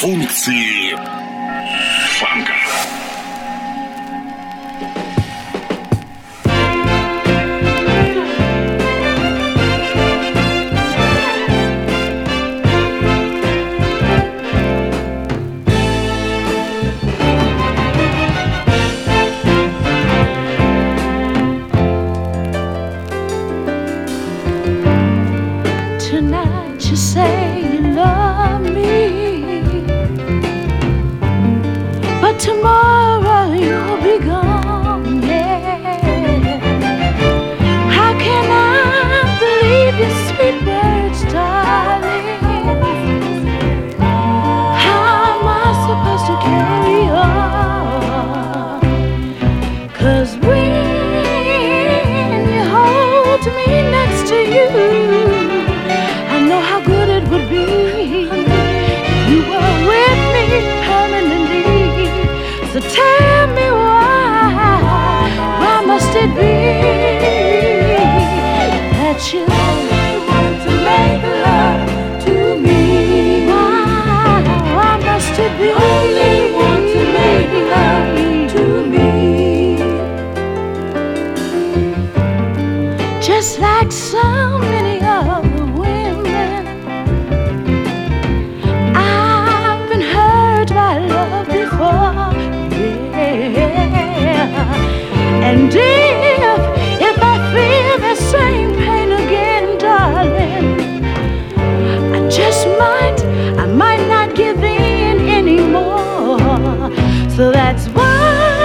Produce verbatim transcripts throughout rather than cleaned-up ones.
Функции фанка. Tonight you say you love me, but tomorrow you'll be gone, yeah. How can I believe your sweet words, darling? How am I supposed to carry on? 'Cause when you hold me next to you, I know how good it would be if you were with me permanently. So tell me why, why must it be that you only want to make love to me? Why, why must it be only want to make love to me? Just like so many other women, I've been hurt by love before, yeah. And if, if I feel the same pain again, darling, I just might, I might not give in anymore. So that's why,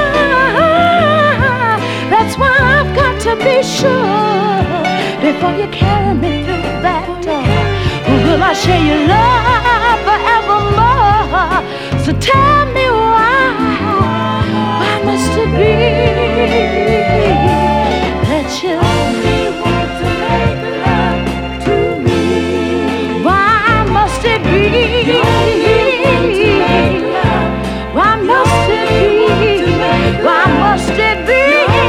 that's why I've got to be sure before you carry me through that door. Will I share your love forevermore? So tell me why, why must it be that you only want to make love to me? Why must it be? You only want to make love. Why must it be? Why must it be?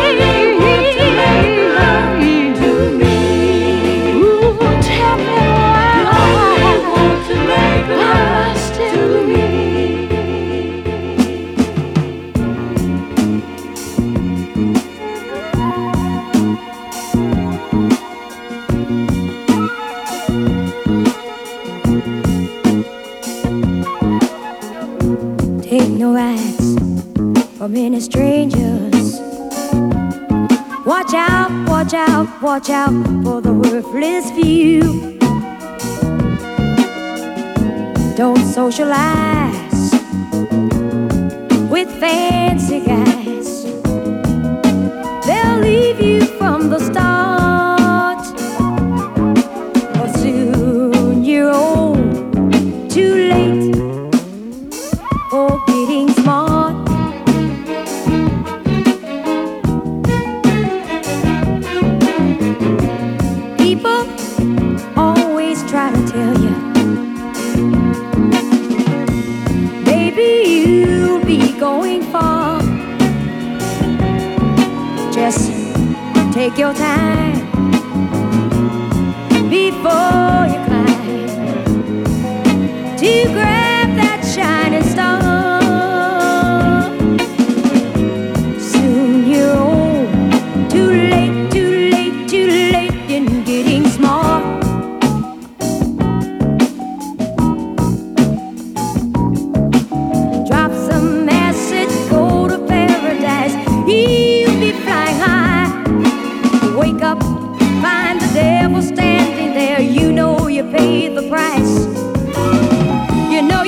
Take no rights from any strangers. Watch out, watch out, watch out for the worthless few. Don't socialize with fancy guys. They'll leave you from the start, or soon you're old, too late for getting smart. People always try to tell you, baby, you'll be going far. Just take your time before you climb to grab that shining star. Soon you're old, too late, too late, too late in getting smart. Drop some acid, go to paradise. You'll be flying high. Wake up, find the devil standing there. You know you paid the price. You know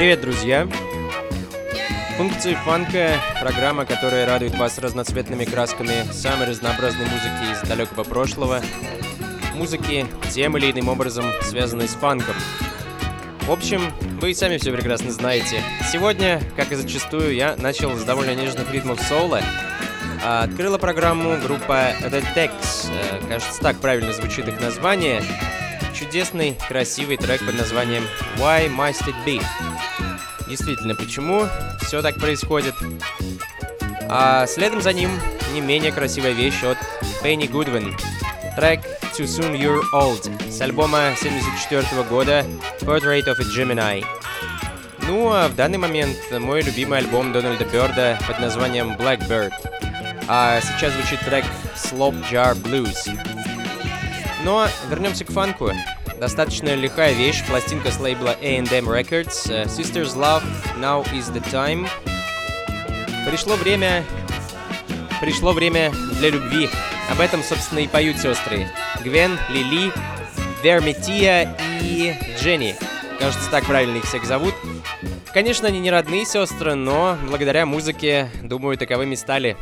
Привет, друзья! Функции фанка — программа, которая радует вас разноцветными красками самой разнообразной музыки из далекого прошлого, музыки, тем или иным образом связанной с фанком. В общем, вы и сами все прекрасно знаете. Сегодня, как и зачастую, я начал с довольно нежных ритмов соула. Открыла программу группа The Tex, кажется, так правильно звучит их название. Чудесный, красивый трек под названием Why Must It Be? Действительно, почему все так происходит? А следом за ним не менее красивая вещь от Benny Goodwin. Трек Too Soon You're Old с альбома семьдесят четвёртого года Portrait of a Gemini. Ну а в данный момент мой любимый альбом Дональда Бёрда под названием Blackbird. А сейчас звучит трек Slop Jar Blues. Но вернемся к фанку. Достаточно лихая вещь, пластинка с лейбла A and M Records, Sisters Love, Now is the Time. Пришло время... Пришло время для любви. Об этом, собственно, и поют сестры Гвен, Лили, Верметия и Дженни. Кажется, так правильно их всех зовут. Конечно, они не родные сестры, но благодаря музыке, думаю, таковыми стали.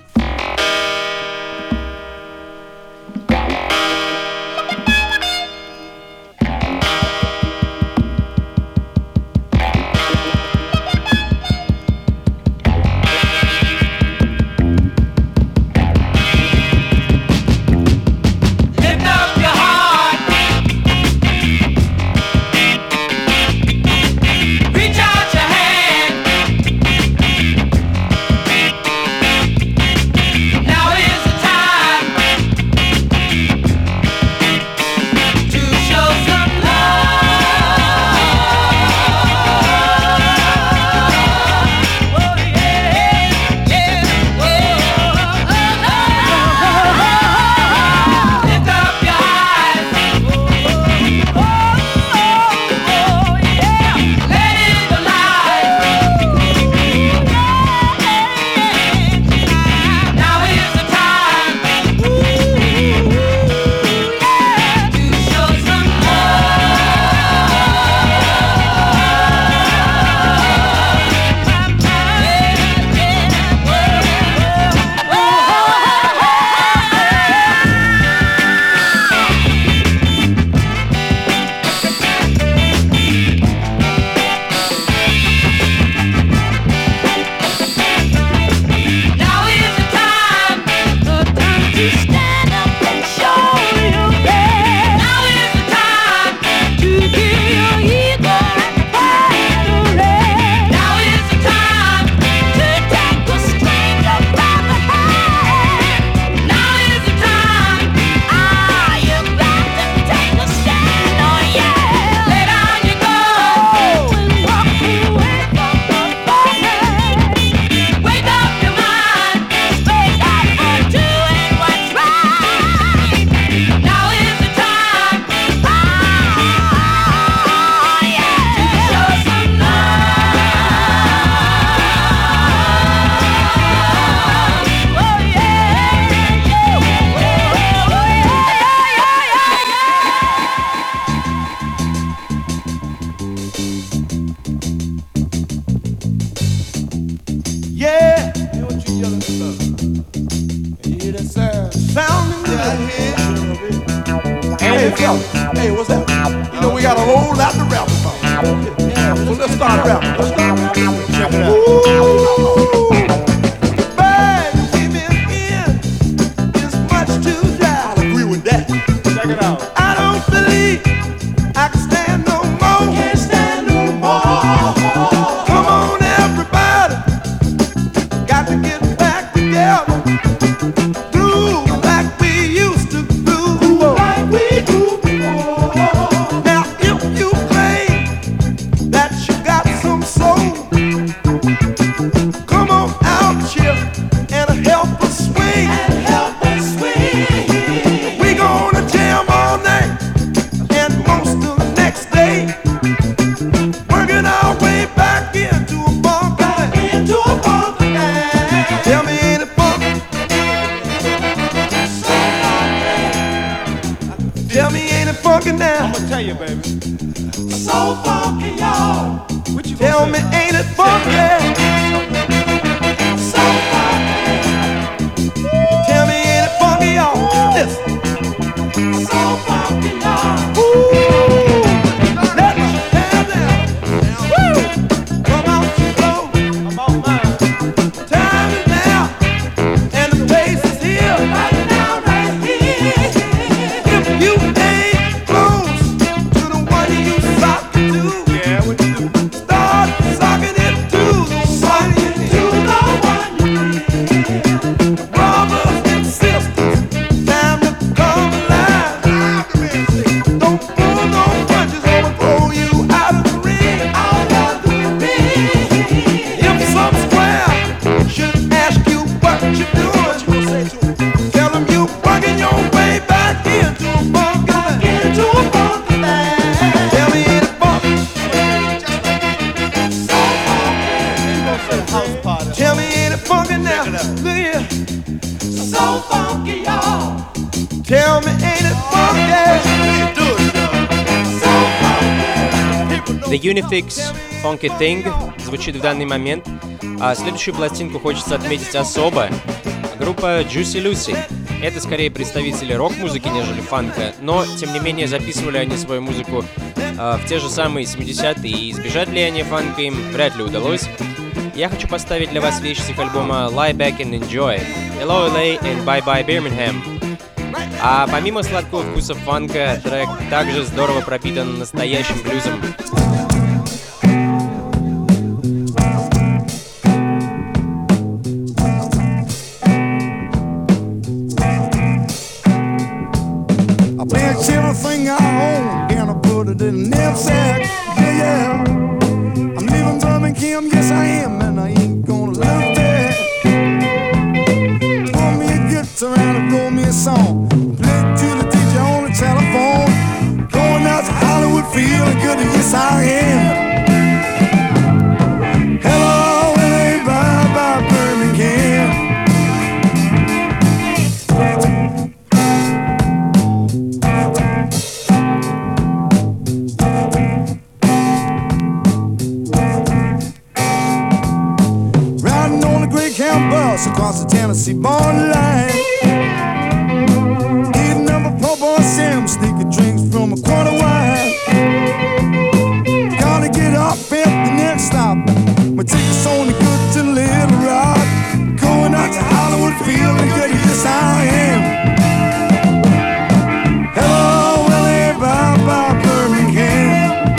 Hey, what's that? You know, we got a whole lot to rap about. Yeah, so let's start rapping. Let's start rapping. Check it out. Ooh, the bad women in is much too dry. I agree with that. Check it out. I don't believe I can stand no more. Can't stand no more. Come on, everybody. Got to get back together. Do like we used to do. Like we do. Now if you claim that you got some soul, come on out here and help us swing. And help us swing. We gonna jam all night and most of the next day, working our way back into a funk. Back into a funk. Tell me, ain't it funk? Tell me, ain't it funky now? I'ma tell you, baby. So funky, y'all. What you Tell Tell me, ain't it funky? So funky. Tell me, ain't it funky, y'all? Listen. So funky, y'all. Ooh, let me have that. Woo! Come on, slow. Come on, man. Time is now, and the place is here. Right now, right here. If you ain't close to the one you sock to, yeah, what you do? Start socking it to the one you to the one you need. Brothers and sisters, time to come alive. Don't pull no punches or we'll throw you out of the ring. Out of the ring. If some square should ask you what you doing, what you gonna say to 'em? Tell them you working your way back into a funky land. Into a funky land. Tell me ain't it funky? So funky. Tell me ain't it funky now? Look here. So funky, y'all. Tell me ain't it funky? Do it, y'all. So funky. The Unifix Funky Thing звучит в данный момент, а следующую пластинку хочется отметить особо. Группа Juicy Lucy. Это скорее представители рок-музыки, нежели фанка, но, тем не менее, записывали они свою музыку э, в те же самые семидесятые, и избежать влияния фанка им вряд ли удалось. Я хочу поставить для вас вещь с их альбома Lie Back and Enjoy, Hello L A and Bye Bye Birmingham. А помимо сладкого вкуса фанка, трек также здорово пропитан настоящим блюзом. I packed everything I own and I put it in a knapsack. Yeah, yeah. I'm leaving Birmingham, yes I am, and I ain't gonna look back. Pour me a guitar and roll me a song. Play it to the D J on the telephone. Going out to Hollywood, feeling good, and yes I am. Hello, L A, bye bye Birmingham. Bus across the Tennessee borderline, eating up a po' boy Sam, sneaking drinks from a quarter wine. Gotta get up at the next stop. My ticket's only good to Little Rock. Going out to Hollywood, feeling good, yes I am. Hello, L A, bye bye Birmingham.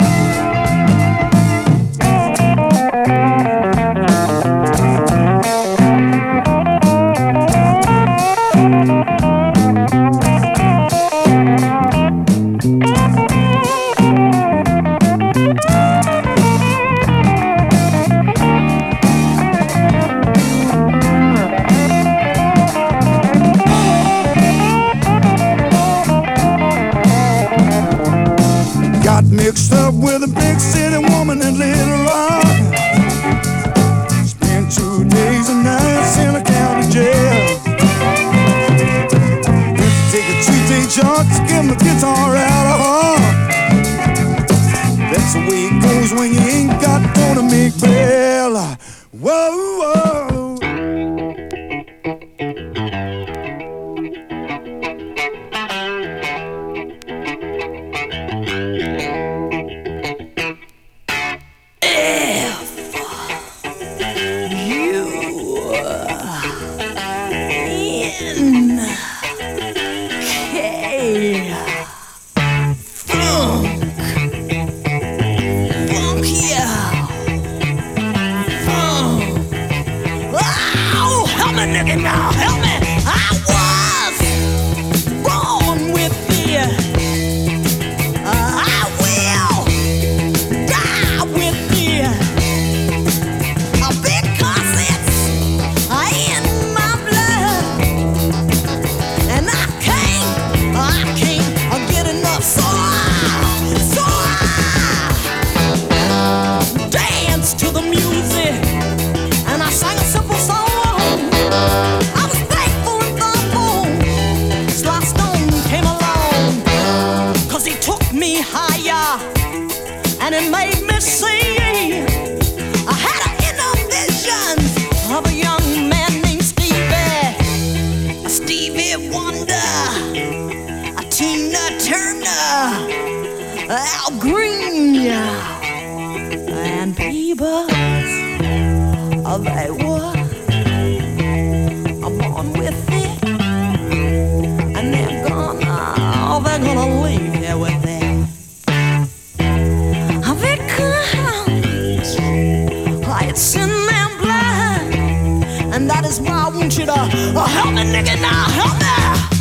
Mixed up with a big city woman in Little Rock. Spent two days and nights in a county jail. Had to take a two-day jaunt to get my guitar out of heart. That's the way it goes when you ain't got dough to make bail. Whoa, whoa. To the music, and I sang a simple song. I was thinking Oh, they were. I'm on with it. And they're gonna, oh, they're gonna leave here with it. Oh, because it's in their blood. And that is why I want you to oh, help me, nigga, now, help me.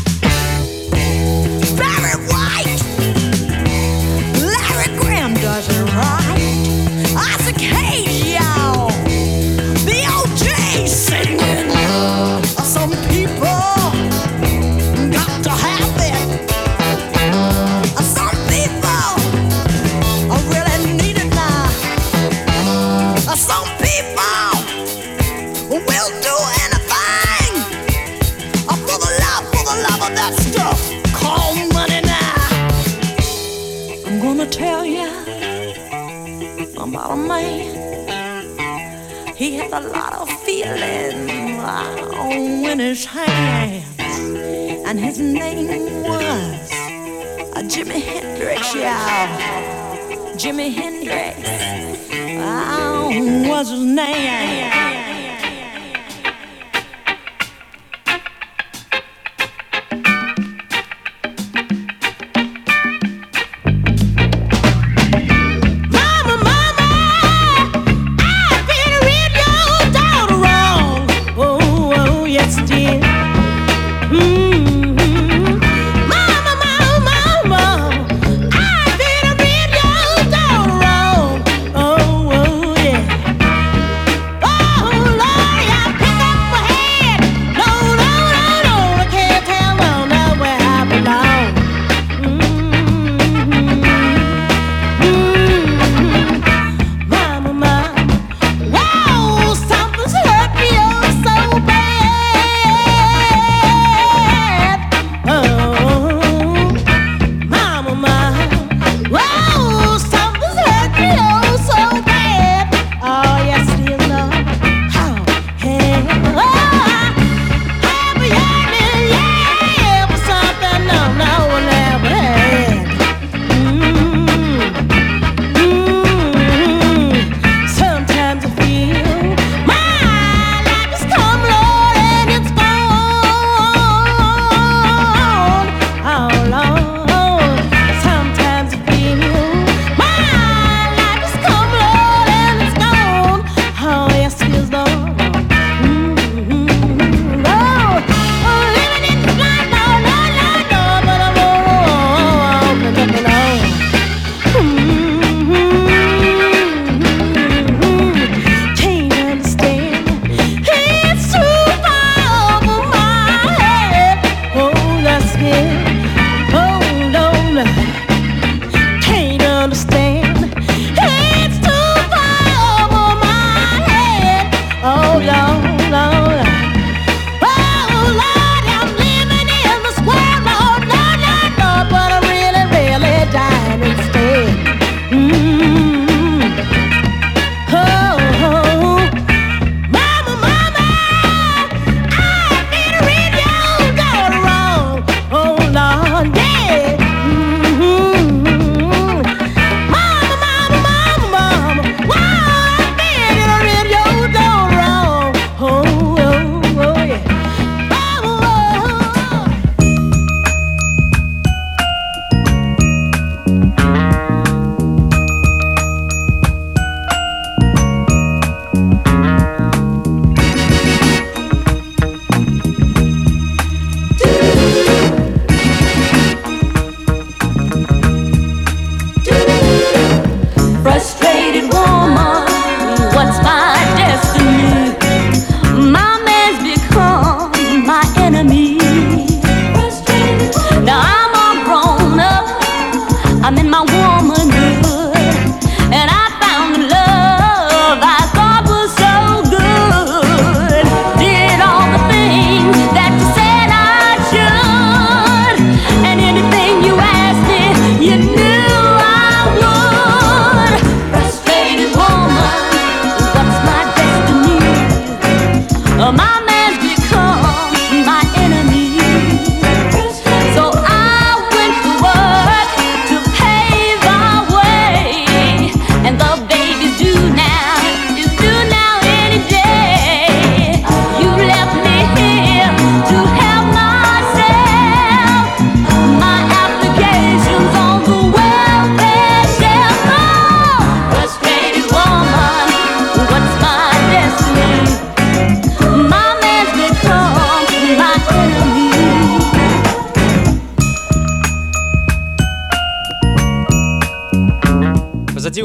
Barry White, Larry Graham does it right. Isaac Hayes, y'all, the O J singing. Some people got to have it. Some people really need it now. Some people will do anything for the love, for the love of that stuff called money now. I'm gonna tell you about a man. He had a lot of feeling in his hands, and his name was uh, Jimi Hendrix, y'all. Jimi Hendrix uh, was his name. Oh,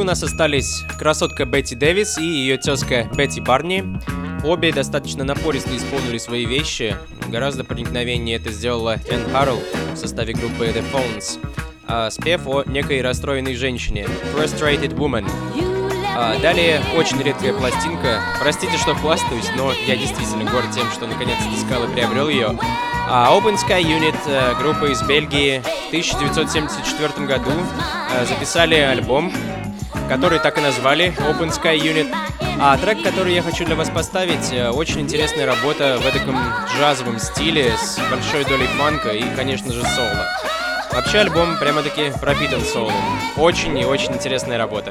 нас остались красотка Бетти Дэвис и ее тезка Бетти Барни. Обе достаточно напористо исполнили свои вещи. Гораздо проникновеннее это сделала Энн Харрелл в составе группы The Phones. А, спев о некой расстроенной женщине Frustrated Woman. А, далее очень редкая пластинка. Простите, что хвастаюсь, но я действительно горд тем, что наконец-то искал и приобрел ее. А, Open Sky Unit, группа из Бельгии, в тысяча девятьсот семьдесят четвёртом году а, записали альбом, который так и назвали Open Sky Unit. А трек, который я хочу для вас поставить, очень интересная работа в эдаком джазовом стиле с большой долей фанка и, конечно же, соло. Вообще альбом прямо-таки пропитан соло. Очень и очень интересная работа.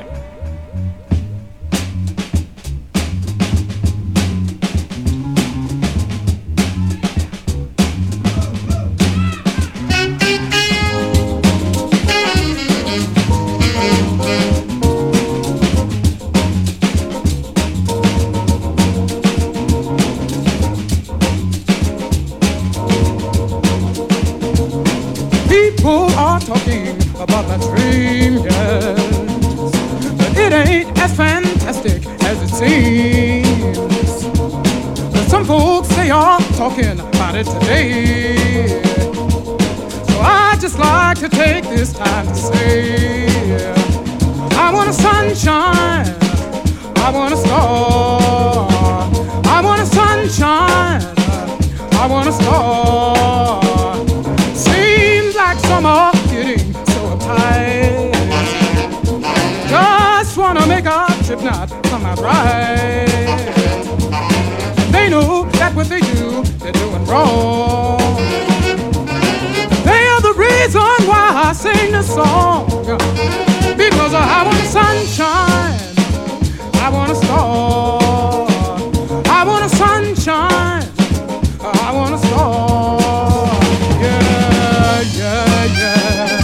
People are talking about that dream, yes, but it ain't as fantastic as it seems. But some folks, they are talking about it today. So I just like to take this time to say, I want a sunshine, I want a star, I want a sunshine, I want a star. Like summer getting so uptight, just wanna make our trip not come out right. They know that what they do, they're doing wrong. They are the reason why I sing this song, because I want the sunshine, I want a star, I want a sunshine, I want a star. Yeah, yeah.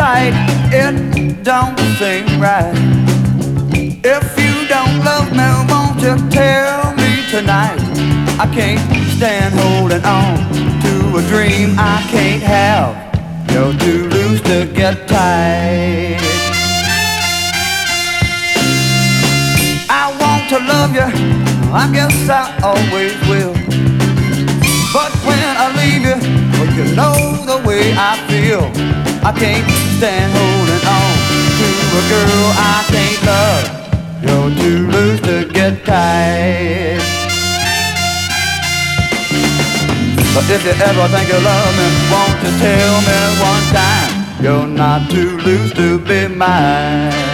tight, it don't seem right. If you don't love me, won't you tell me tonight? I can't stand holding on to a dream I can't have. You're too loose to get tight. I want to love you, I guess I always will. But when I leave you, well, you know the way I feel. I can't stand holding on to a girl I can't love. You're too loose to get tight. But if you ever think you love me, won't you tell me one time you're not too loose to be mine?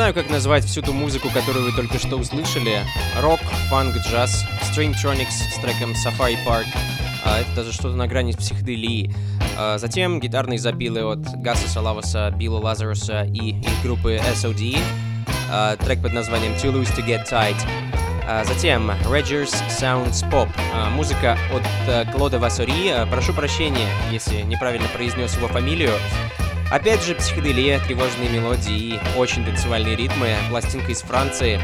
знаю, как назвать всю ту музыку, которую вы только что услышали. Рок, фанк, джаз, Stringtronics с треком Safari Park. А, это даже что-то на грани с психоделией. А, затем гитарные запилы от Гаса Салаваса, Билла Лазаруса и их группы эс о ди. А, трек под названием Too Loose to Get Tight. А, затем Rogers Sounds Pop. А, музыка от а, Клода Вассори. А, прошу прощения, если неправильно произнес его фамилию. Опять же, психоделия, тревожные мелодии и очень танцевальные ритмы. Пластинка из Франции.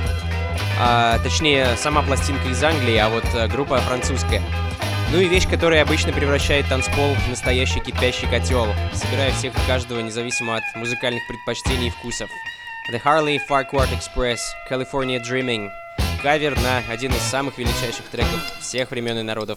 А, точнее, сама пластинка из Англии, а вот а, группа французская. Ну и вещь, которая обычно превращает танцпол в настоящий кипящий котел, собирая всех и каждого независимо от музыкальных предпочтений и вкусов. The Harley Farquhar Express, California Dreaming. Кавер на один из самых величайших треков всех времен и народов.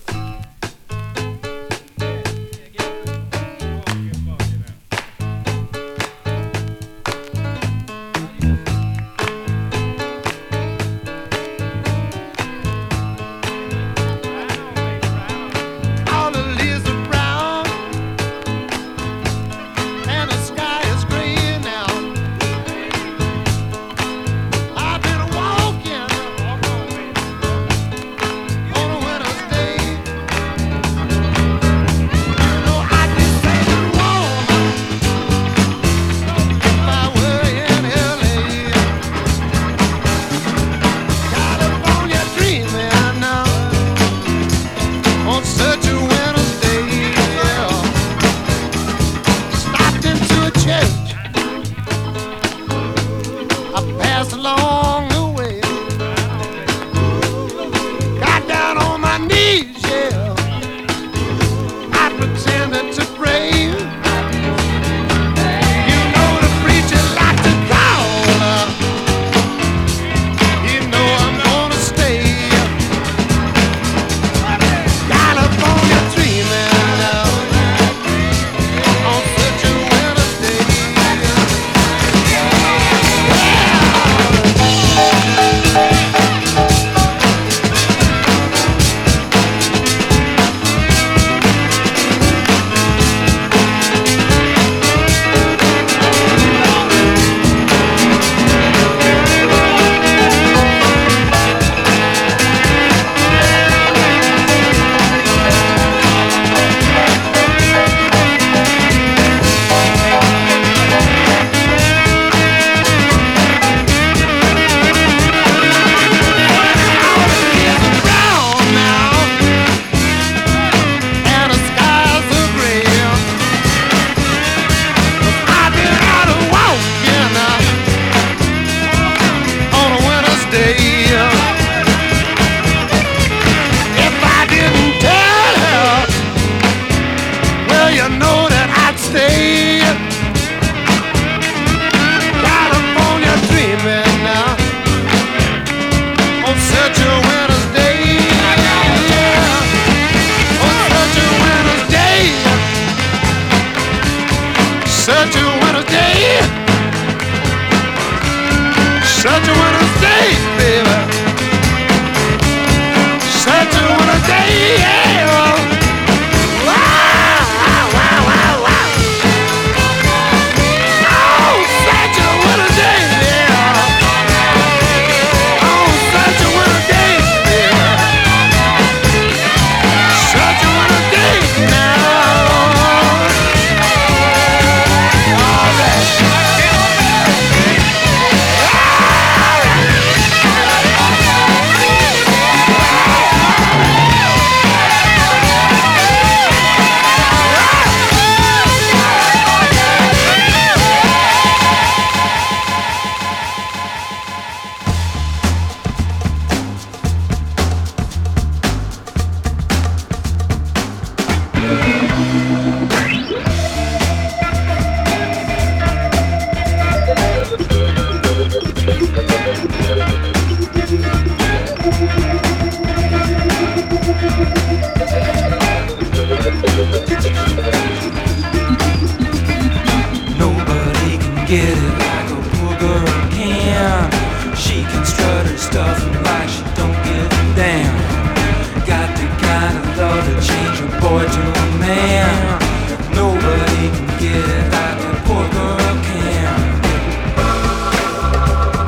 Nobody can get it like a poor girl can.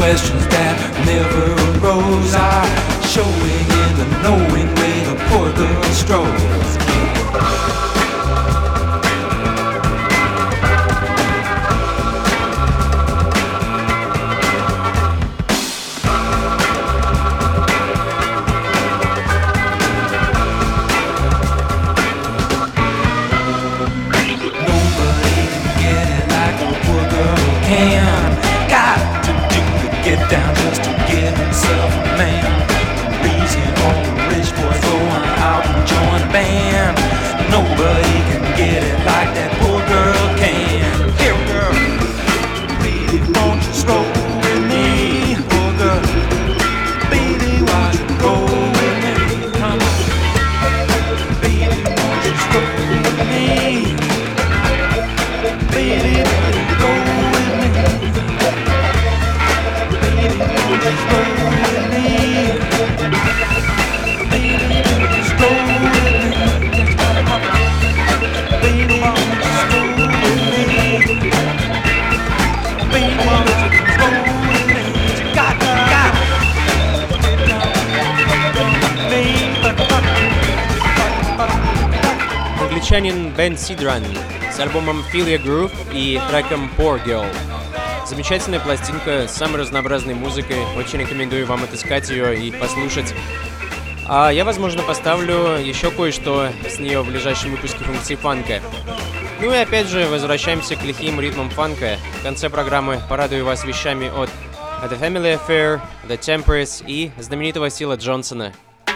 questions that never arose are showing in the knowing way the poor girl strolls. Down just to get himself a man. Reason all the rich boys going out and join a band. Nobody can get it like that poor girl can. Here, girl, baby, won't you stroll with me? Poor girl, baby, won't you go with me? Come on, baby, won't you stroll with me? Baby, won't you go with me? Англичанин Бен Сидран с альбомом Feel Your Groove и треком Poor Girl. Замечательная пластинка с самой разнообразной музыкой. Очень рекомендую вам отыскать ее и послушать. А я, возможно, поставлю еще кое-что с нее в ближайшем выпуске функции фанка. Ну и опять же, возвращаемся к лихим ритмам фанка. В конце программы порадую вас вещами от The Family Affair, The Tempers и знаменитого Сила Джонсона.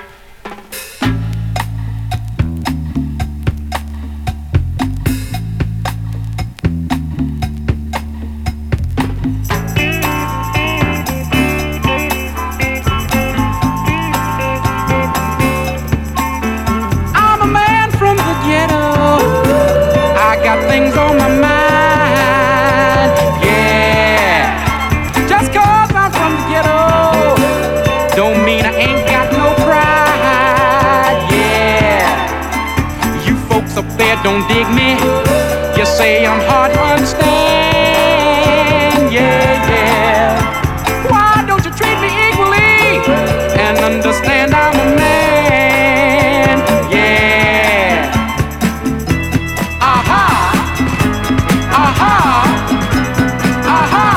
Don't dig me, you say I'm hard to understand, yeah, yeah. Why don't you treat me equally and understand I'm a man, yeah. Aha, aha, aha,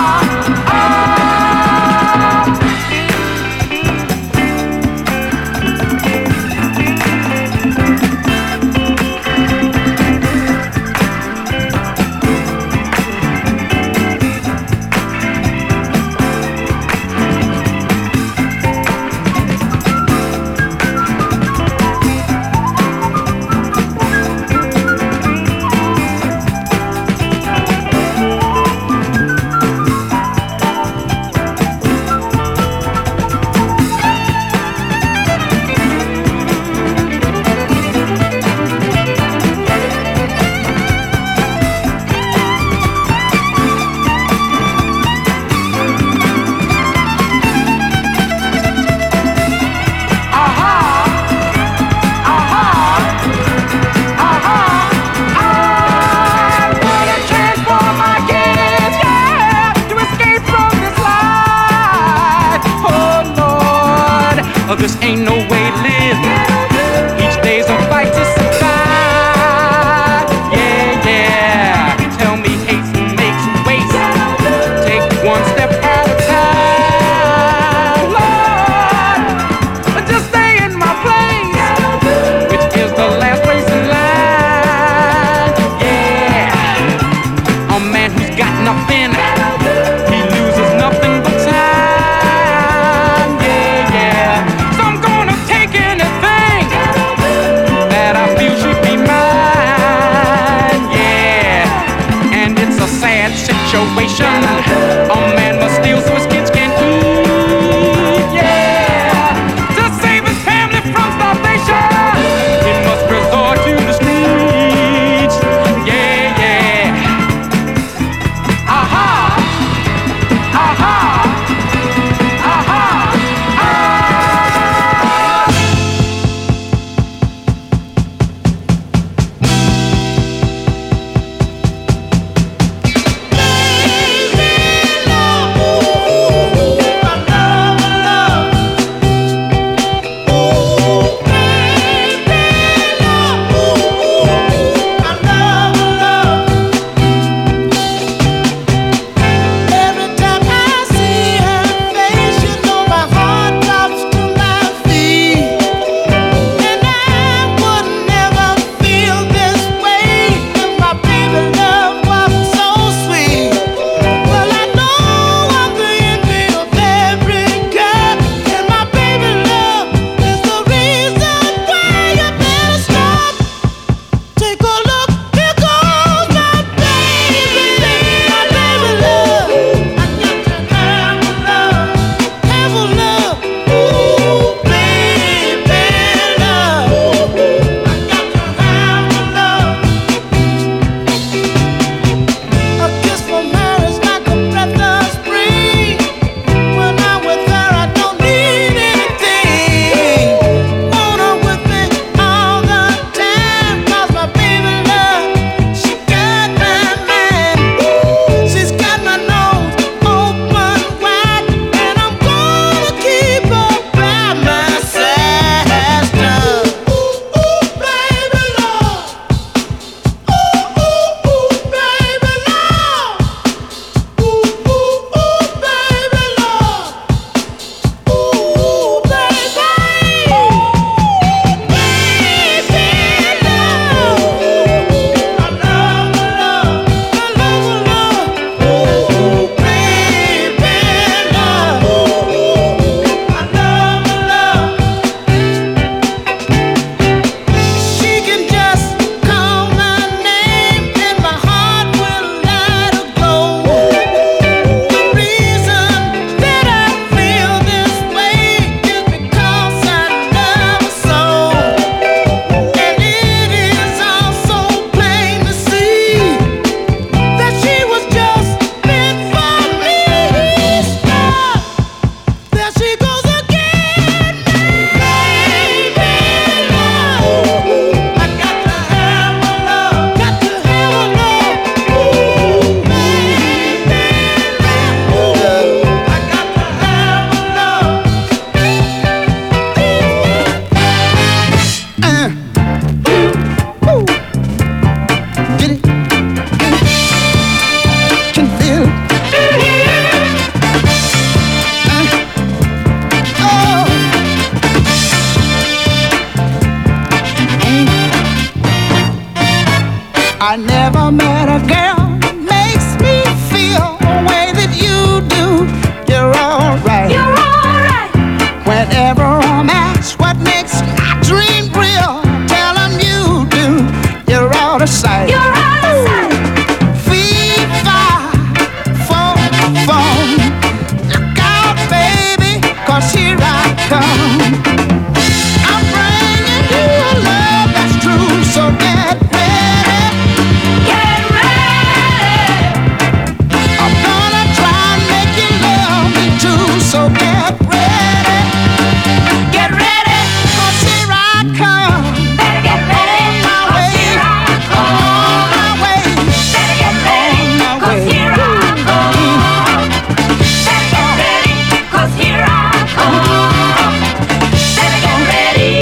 I never met a girl makes me feel the way that you do. You're alright. You're alright. Whenever I'm asked what makes my dream real, tell 'em you do. You're out of sight. You're out of sight. Fee, fi, fo, fo. Look out, baby, 'cause here I come. I'm bringing you a love that's true, so get ready. Get ready. I'm gonna try and make you love me too, so get ready. Get ready, 'cause here I come. Better get ready, 'cause here I come. I'm on my way. Better get ready, 'cause here I come. Better get ready, 'cause here I come. Better get ready.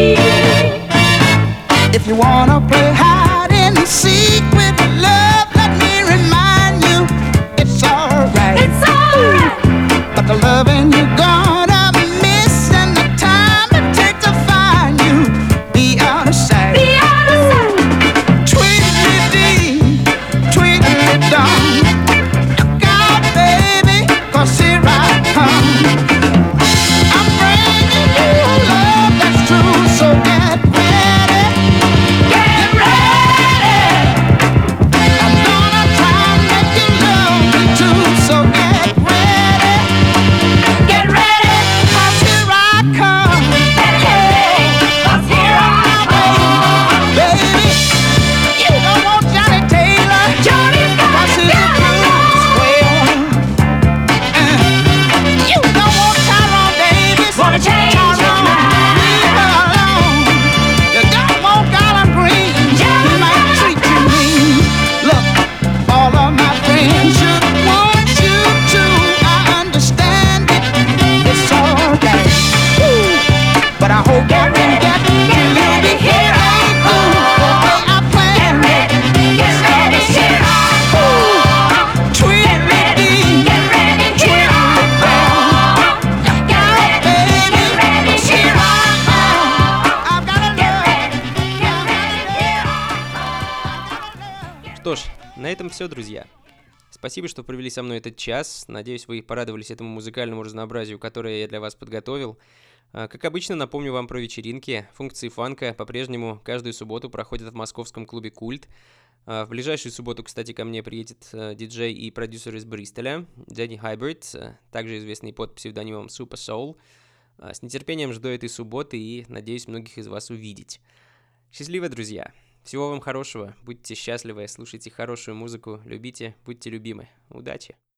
If you wanna play hide and seek with love, let me remind you, it's alright. It's alright. But the loving you're gonna miss and the time it takes to find you, be out of sight. Be out of sight. Tweedledee, tweedledum. Look out, baby, 'cause here I come. I'm bringing you a love that's true, so get ready. Get ready. I'm gonna try and make you love me too, so get ready. Get ready, 'cause here I come. Get ready, 'cause here I come. Baby, you don't want Johnny Taylor. Johnny's got 'cause he's a blues whale. Uh, you don't want Tyrone Davis. Wanna change his mind. Leave her alone. You don't want Garland Green. He might treat you mean. Look, all of my friends should want you to. I understand it. It's alright. Woo. But I hope you can get me. You'll be here. Ain't cool the way I planned it. Get ready, here I come. Tweedledee, get ready, here I come. Look out, baby, here I am. I've got a love. Get ready, here I come. Что ж, на этом все, друзья. Спасибо, что провели со мной этот час. Надеюсь, вы порадовались этому музыкальному разнообразию, которое я для вас подготовил. А, Как обычно, напомню вам про вечеринки. Функции фанка по-прежнему каждую субботу проходят в московском клубе «Культ». А, В ближайшую субботу, кстати, ко мне приедет э, диджей и продюсер из Бристоля, Дэнни Хайберт, э, также известный под псевдонимом Super Soul. А, С нетерпением жду этой субботы и надеюсь многих из вас увидеть. Счастливо, друзья! Всего вам хорошего, будьте счастливы, слушайте хорошую музыку, любите, будьте любимы. Удачи!